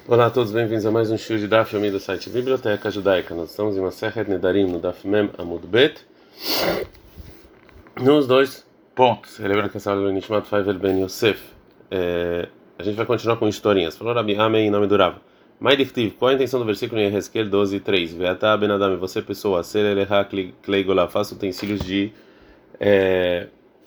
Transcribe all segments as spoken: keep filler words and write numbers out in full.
Olá a todos, bem-vindos a mais um show de Daf Yomi do site Biblioteca Judaica. Nós estamos em Masechet Nedarim no Daf Mem Amud Bet, nos dois pontos. Lembra que essa aula é Nishmat Faivel Ben Yosef. É, a gente vai continuar com historinhas. Falou Rabi Amei em nome do Rav. Mai Dichtiv, qual a intenção do versículo em Ezequiel doze, três? Veatá Ben Adam, você pessoa, ser eleha klei golá, faça utensílios de é,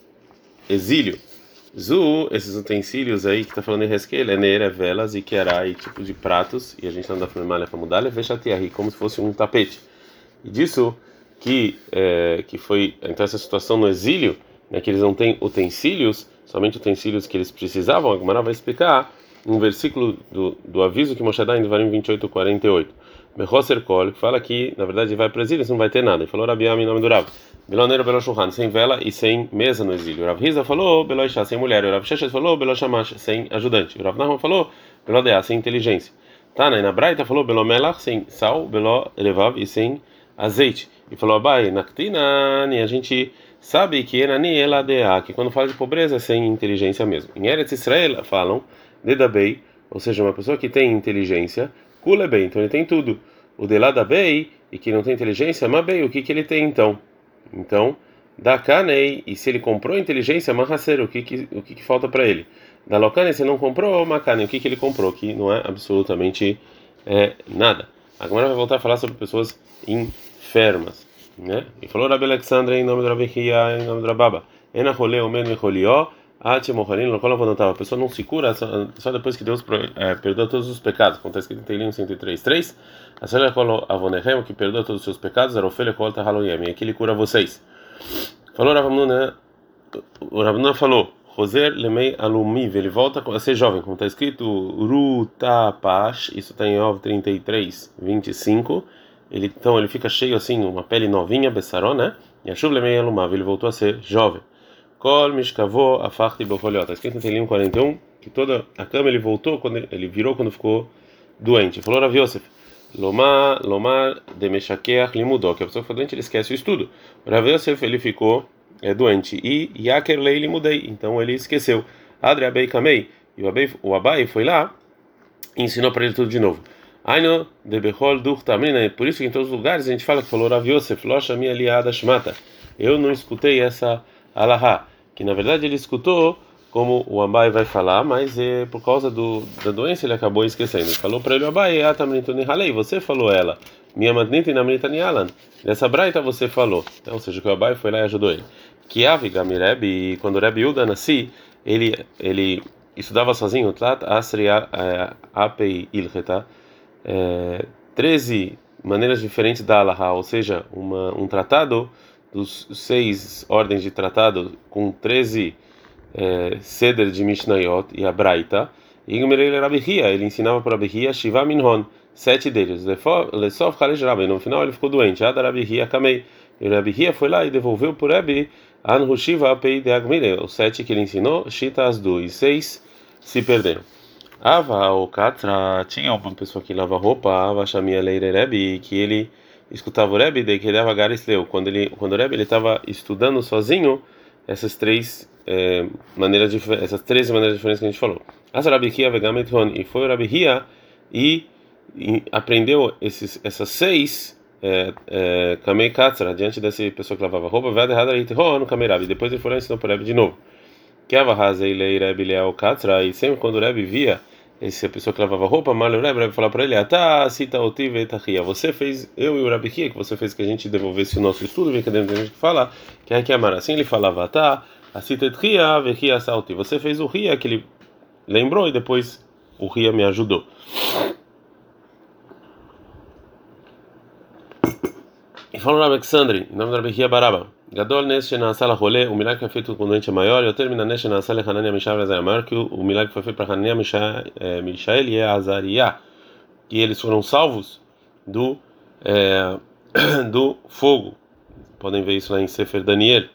exílio. Zu, esses utensílios aí que está falando em Resquel, é neira, velas e querá e tipo de pratos, e a gente anda falando malha para mudar, é vexatiarri, como se fosse um tapete. E disso que é, que foi então essa situação no exílio, né, que eles não têm utensílios, somente utensílios que eles precisavam. A Gemara vai explicar um versículo do, do aviso que Moshe dá em Devarim vinte e oito, quarenta e oito. Mechoser Kol, que fala que na verdade vai para o exílio, não vai ter nada. E falou Rabi Ami em nome do Rav. Beloneiro Belo Shulchan, sem vela e sem mesa no exílio. Rav Hiza falou Belo Ishá, sem mulher. Rav Sheshes falou Belo Shamash, sem ajudante. Rav Nahman falou Belo Deá, sem inteligência. Tana, na Braita falou Belo Melach, sem sal, Belo Levav e sem azeite. E falou Abai, Naktinani, a gente sabe que Enani Eladea, que quando fala de pobreza é sem inteligência mesmo. Em Eretz Israel falam Dedabei, ou seja, uma pessoa que tem inteligência, Kulebei, então ele tem tudo. O Deladabei, e que não tem inteligência, Mabei, o que que ele tem então? Então, da Kanei, e se ele comprou inteligência, Mahaser, o que que, o que, que falta para ele? Da Lokane, se não comprou, Makane, o que que ele comprou? Que não é absolutamente é, nada. Agora vai voltar a falar sobre pessoas enfermas, né? E falou Rabi Alexandre em nome do Rabi Hia, em nome do Rababa. Ena rolê o mesmo rolió, ate morrarim, local voltava. A pessoa não se cura só, só depois que Deus é, perdoa todos os pecados. Acontece que tem cento e três, três. A senhora falou avonehem, que perdoa todos os seus pecados, era ofele colta haloyem, e aqui ele cura vocês. Falou Ravamuna, o Ravamuna falou, Roser lemei alumiv, ele volta a ser jovem, como está escrito, Rutapash, isso está em Ov trinta e três, vinte e cinco. Ele, então ele fica cheio assim, uma pele novinha, Bessaró, né? E a chuva lemei alumav, ele voltou a ser jovem. Kol mishkavô afarti bocholhó, está escrito em Telim quarenta e um, que toda a cama ele voltou, quando ele, ele virou quando ficou doente. Falou Rav Yosef, Lomar, Lomar de Meshakeach limudó, que a pessoa que foi doente ele esquece o estudo. Rav Yosef ele ficou é, doente e Yaker lei limudei, então ele esqueceu. Adre Abei Kamei, e o Abai, o Abai foi lá e ensinou para ele tudo de novo. Aino de Bechol Dur Tamrina, por isso que em todos os lugares a gente fala que falou Rav Yosef, Locha minha aliada Shmata. Eu não escutei essa alahá, que na verdade ele escutou como o Abai vai falar, mas é, por causa do, da doença ele acabou esquecendo. Ele falou para ele, Abai, você falou ela, minha madnita e namrita nialan, nessa braita você falou, então, ou seja, que o Abai foi lá e ajudou ele. Que aviga Mireb, quando o Rebbe Yuda nasci, ele, ele estudava sozinho, Tlat Asri Apei Ilcheta, treze maneiras diferentes da alahá, ou seja, uma, um tratado dos seis ordens de tratado com treze é, Seder de Mishnayot e a Braita, e Rabi Hia, ele ensinava para Rabi Hia Shiva Minhon, sete deles. Lesof Chalesh Rabbi, no final ele ficou doente. Ada Rabi Hia Kamei, e Rabi Hia foi lá e devolveu por Rabi Anhu Shiva Pei de Agmire, os sete que ele ensinou, Shita Asdu, e seis se perderam. Ava o Katra, tinha uma pessoa que lava roupa, Ava Shamia Leire Rabi, que ele escutava o Rebbe, de que ele dava Garisleu. Quando ele, quando o Rebbe ele estava estudando sozinho essas três é, maneiras de, essas três maneiras diferentes que a gente falou. As Rabi Hia vegametron, e foi o Rabi Hia e, e aprendeu esses essas seis Kamei é, Katzra diante dessa pessoa que lavava roupa. Vai errado aí no Kamei Rabi. Depois ele foi lá e ensinou para o Rebbe de novo. Que avahazei lei Rebbe leal Katzra, e sempre quando o Rebbe via essa pessoa que lavava roupa, mal o Rebbe vai falar para ele, Atá, cita otiv etachia, você fez, eu e o Rabi Hia, que você fez que a gente devolvesse o nosso estudo, vem que tem gente que fala, que é que amar. Assim ele falava, Atá, a cita etchia, vechia salti, você fez o Ria, que ele lembrou e depois o Ria me ajudou. E falou Rabi Alexandre, em nome do Rabi Hia Baraba, Gadol Nes Shenasala Rolê, o milagre que foi feito com o doente é maior, e eu termino Nes Shenasala Hanania Mishael é maior que o milagre que foi feito para Hanania Mishael e Azariah, que eles foram salvos do é, do fogo. Podem ver isso lá em Sefer Daniel.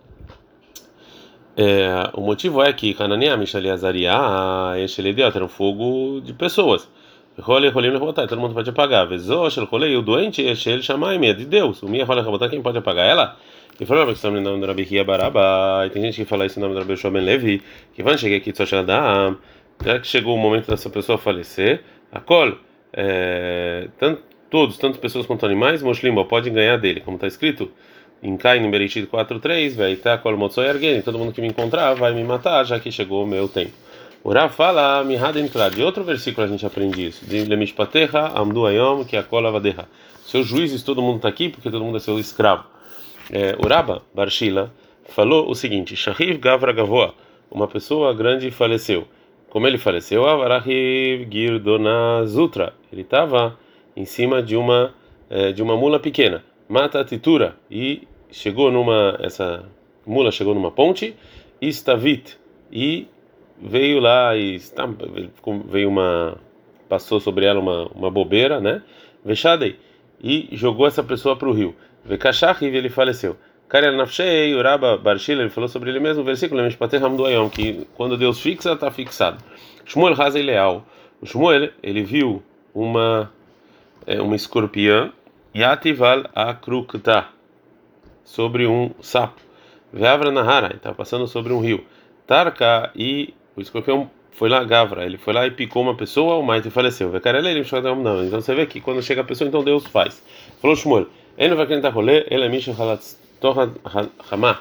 É, o motivo é que Hanania Mishael e Azariah era um fogo de pessoas. Rolê, rolê, não botar, todo mundo pode apagar. Vezos, rolê, o doente é ele chamar é de Deus. O minha rolê, botar, quem pode apagar ela? E falou que estamos no nome do Rabi Hia Baraba, e tem gente que fala isso no nome do Rabi Shua Ben Levi, que vai chegar aqui de Soshaladam, já que chegou o momento dessa pessoa falecer, a col, é, tanto, todos, tanto pessoas quanto animais, Moshlimba, podem ganhar dele, como está escrito em Caim, no Bereshit quatro três, vai tá col motzoi argeni, todo mundo que me encontrar vai me matar, já que chegou o meu tempo. O Rav fala, Mihaden Klal, de outro versículo a gente aprende isso, de Lemishpatecha, Amdu Ayom, que a cola vadeha. Seus juízes, todo mundo está aqui, porque todo mundo é seu escravo. É, o Rabba Barshila falou o seguinte: Shahiv Gavra Gavoa, uma pessoa grande faleceu. Como ele faleceu? Avarahiv Girdona Zutra. Ele estava em cima de uma eh, de uma mula pequena. Mata Titura e chegou numa essa mula chegou numa ponte. Istavit e veio lá e está, veio uma passou sobre ela uma uma bobeira, né? Vexadei e jogou essa pessoa para o rio. Vekashahiv ele faleceu. Karel Nafshei, Uraba Barshila, ele falou sobre ele mesmo, versículo que quando Deus fixa, está fixado. Shmuel Hazei Leal. O Shmuel, ele viu uma é, uma escorpiã Yatival Akrukta sobre um sapo. Veavra Nahara, ele estava passando sobre um rio. Tarka e o escorpião foi lá, Gavra, ele foi lá e picou uma pessoa, o Maite faleceu. Vekarele ele não. Então você vê que quando chega a pessoa, então Deus faz. Falou Shmuel, ele não vai querer rolê, ele é Misha Halatz Torra Hamá.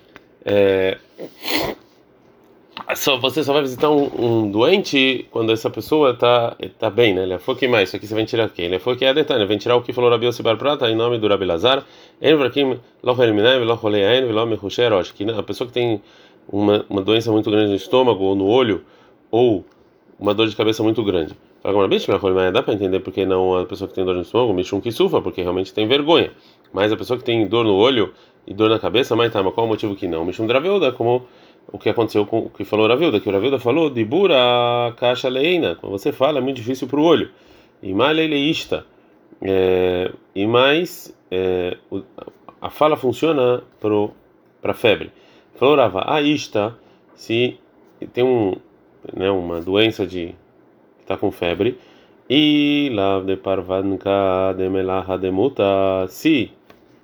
Só você só vai visitar um, um doente quando essa pessoa está tá bem, né? Ele foi que mais? Isso aqui você vai tirar quem? Ele foi que é detalhe, vai tirar o que falou Rabi Yossi bar Prata em nome do Rabi Lazar. Envrakim lo eliminai lo roleain lo mechusher. Acho que a pessoa que tem uma uma doença muito grande no estômago ou no olho ou uma dor de cabeça muito grande. Fala bicho, dá para entender porque não a pessoa que tem dor no estômago, Mishum que sufra, porque realmente tem vergonha. Mas a pessoa que tem dor no olho e dor na cabeça, mas tá, mas qual o motivo que não? Mishum Draveuda, como o que aconteceu com o que falou Ravilda, que o Ravilda falou de bura caixa leina, quando você fala é muito difícil para o olho. E mais leileísta, e mais é, a fala funciona para febre. Falou Rava, a ista, se tem um, né, uma doença de está com febre e lá de parvanka de melaha demuta, se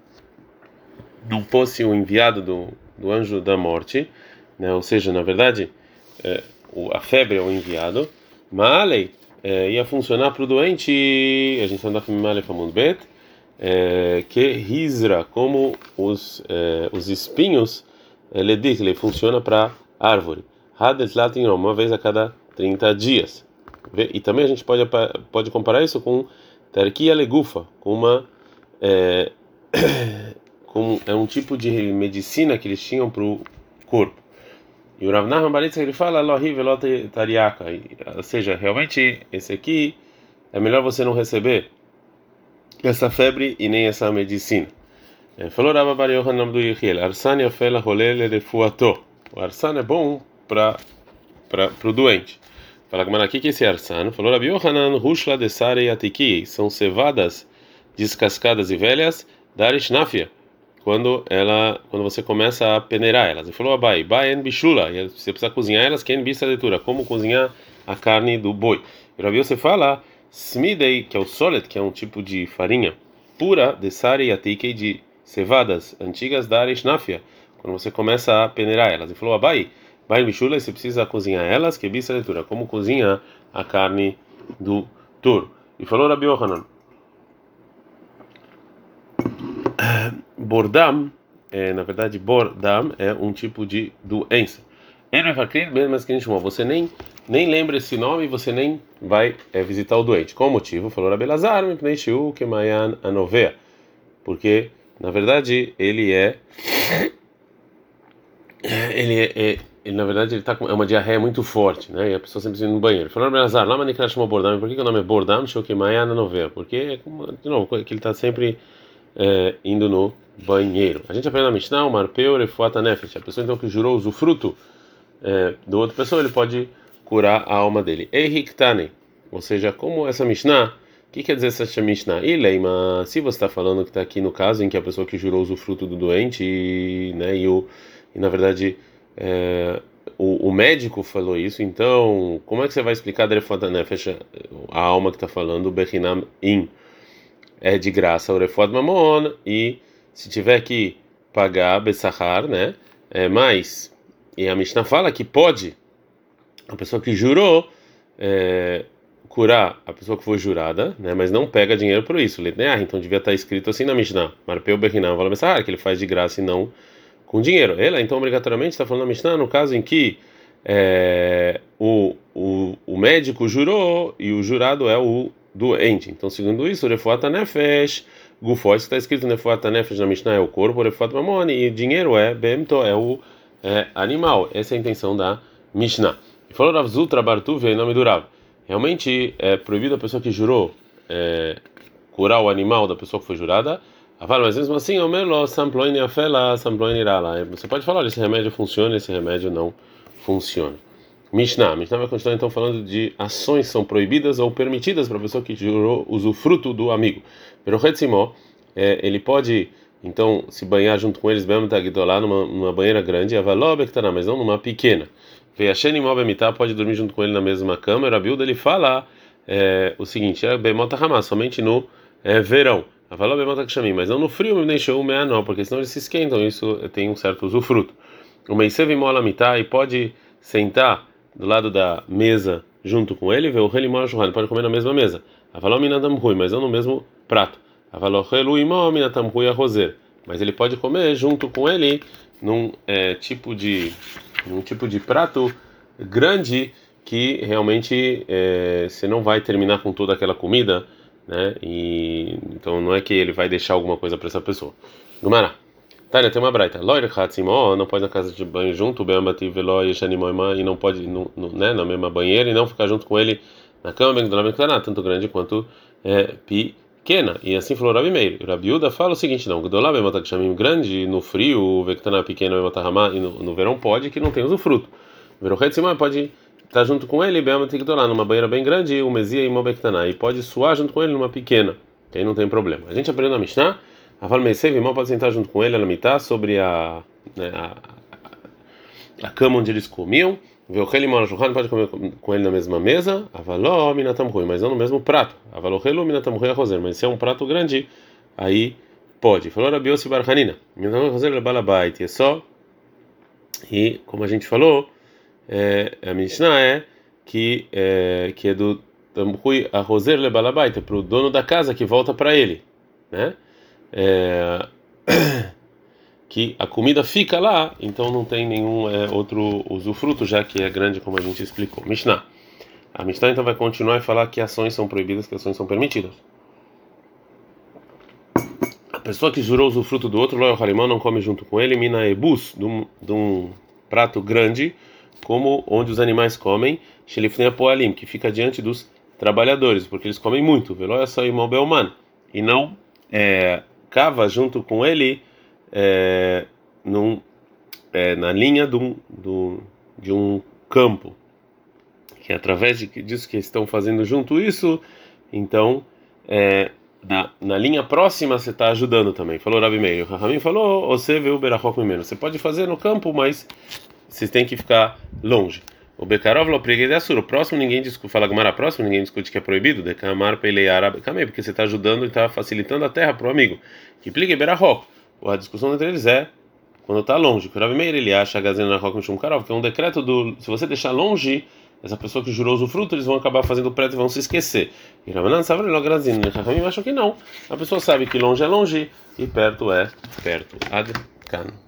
não fosse o enviado do, do anjo da morte, né, ou seja, na verdade é, o, a febre é o enviado, malei é, ia funcionar para o doente, a gente anda família famoso bet, é, que risra como os é, os espinhos ledikle funciona para árvore, hadet latin uma vez a cada trinta dias. E também a gente pode pode comparar isso com terquia legufa, com uma é, com é um tipo de medicina que eles tinham para o corpo. E o Rav Nachman Baritzka ele fala lohi velot tariaka, ou seja, realmente esse aqui é melhor você não receber essa febre e nem essa medicina. Falou Rav Bar Yohanan do Yehiel, arsan yafel holel refuato. O arsan é bom para para o doente. Fala como aqui que esse arsano falou Rabi Yohanan rushla de sare atiki, são cevadas descascadas e velhas da arishnafia, quando ela quando você começa a peneirar elas. Ele falou abai baen bishula, e você precisa cozinhar elas, que é bista leitura, como cozinhar a carne do boi. E Rabi você fala smidei, que é o solet, que é um tipo de farinha pura de sare atiki, de cevadas antigas da arishnafia, quando você começa a peneirar elas. Ele falou abai Bain Bishula, você precisa cozinhar elas, que bista leitura, como cozinha a carne do touro. E falou Rabi Yohanan, Bordam, é, na verdade, Bordam é um tipo de doença. Você nem, nem lembra esse nome e você nem vai é, visitar o doente. Qual o motivo? Falou Rabi Lazar, porque, na verdade, ele é. Ele é. é Ele, na verdade, ele tá com é uma diarreia muito forte, né? E a pessoa sempre indo no banheiro. Falou para Nazar, lá manicra chamou Bordam. Por que, que o nome é Bordam? Shokimaya na novela. Porque, de novo, que ele está sempre é, indo no banheiro. A gente aprende na Mishnah, o Marpeu Refuata Nefesh. A pessoa então que jurou usufruto é, do outra pessoa, ele pode curar a alma dele. Eihiktane, ou seja, como essa Mishnah, o que quer dizer essa Mishnah? Ileima, se você está falando que está aqui no caso em que a pessoa que jurou usufruto do doente, e, né, e, o, e na verdade. É, o, o médico falou isso, então como é que você vai explicar a alma que está falando Bechinam in é de graça o Refod Mamon, e se tiver que pagar Bessahar, né, é mais, e a Mishnah fala que pode a pessoa que jurou é, curar a pessoa que foi jurada, né, mas não pega dinheiro por isso. Ah, então devia estar escrito assim na Mishnah, Marpeu Berinam, que ele faz de graça e não com dinheiro. Ela, então, obrigatoriamente está falando na Mishnah no caso em que é, o, o, o médico jurou e o jurado é o doente. Então, segundo isso, o Refuata Nefesh, Gufós, que está escrito Refuata Nefesh na Mishnah é o corpo, o Refuata Mamoni, e dinheiro é Bemto, é o é, animal. Essa é a intenção da Mishnah. E falou Rav Zutra Bartuve em nome do Rav. Realmente é proibido a pessoa que jurou é, curar o animal da pessoa que foi jurada. Mas mesmo assim, o melo samploine afela samploine irala. Você pode falar, esse remédio funciona, esse remédio não funciona. Mishnah, Mishnah vai continuar então falando de ações que são proibidas ou permitidas para a pessoa que jurou usufruto do amigo. Pero Retzimó, é, ele pode então se banhar junto com eles, mesmo lá numa, numa banheira grande, avalobectana, mas não numa pequena. Veacheni mobemitar pode dormir junto com ele na mesma cama. A Bilda ele fala é, o seguinte: é bemota ramá, somente no é, verão. Avaló bemota kshamim, mas não no frio, nem show não, porque senão eles se esquentam. Isso tem um certo usufruto. O meisev mola mitar e pode sentar do lado da mesa junto com ele, vê o rei mola churran, pode comer na mesma mesa. Avaló minatam rui, mas não no mesmo prato. Avaló relu imó minatam rui arrozer, mas ele pode comer junto com ele num é, tipo de num tipo de prato grande que realmente é, você não vai terminar com toda aquela comida, né? E então não é que ele vai deixar alguma coisa para essa pessoa. Gumara. Tânia, tem uma braita. Loir Hatzimó, não pode ir na casa de banho junto, Beamati Veló e Shanimoima, e não pode, no, no, né, na mesma banheira, e não ficar junto com ele na cama, bem tanto grande quanto é, pequena. E assim falou Rabi Meir. Rabiuda fala o seguinte: não, Gdolá Beamata Kshamim grande, no frio, Vectana pequena, Beamata Ramá, e no, no verão pode, que não tem usufruto. Verão Hatzimó pode estar junto com ele, Beamati Gdolá, numa banheira bem grande, o Mesia e Mobectana, e pode suar junto com ele numa pequena, que aí não tem problema. A gente aprendeu na Mishnah. A Valmeisev, irmão, pode sentar junto com ele, ela mitá sobre a, né, a, a cama onde eles comiam. Vê o Heli Morajuhan, pode comer com ele na mesma mesa. A Való Minatam Rui, mas não no mesmo prato. A Való Helu Minatam Rui Arrozer, mas se é um prato grande, aí pode. Falou Rabi Yossi Bar Hanina, Minatam Arrozer é balabait, é só. E como a gente falou, é, a Mishnah é que é, que é do Tamrui Arrozer le balabait, é para o dono da casa que volta para ele, né? É, que a comida fica lá, então não tem nenhum é, outro usufruto, já que é grande, como a gente explicou. Mishnah. A Mishnah então vai continuar e falar que ações são proibidas, que ações são permitidas. A pessoa que jurou usufruto do outro, Loio Harimão, não come junto com ele, mina ebus, de um, de um prato grande, como onde os animais comem, Shelifnei Poalim, que fica diante dos trabalhadores, porque eles comem muito, Veloia só imó belman, e não é, cava junto com ele é, num, é, na linha do, do, de um campo, que através de, disso que estão fazendo junto isso, então é, na, na linha próxima você está ajudando também. Falou Rabi Meir. O Rahamim falou: você vê o berachok menos. Você pode fazer no campo, mas vocês têm que ficar longe. O Bekarov lo preguei de assur. O próximo ninguém discute, fala Gamara próximo, ninguém discute que é proibido. De Kamar pelei árabe camei, porque você está ajudando e está facilitando a terra para o amigo. Que plique berachok. A discussão entre eles é quando está longe. O Rabi Meir ele acha gazena na roca mishum karov, que é um decreto do se você deixar longe essa pessoa que jurou usufruto, eles vão acabar fazendo preto e vão se esquecer. E Ramanan sabe logo grazina. Rahamim acha que não. A pessoa sabe que longe é longe e perto é perto. Ad kan.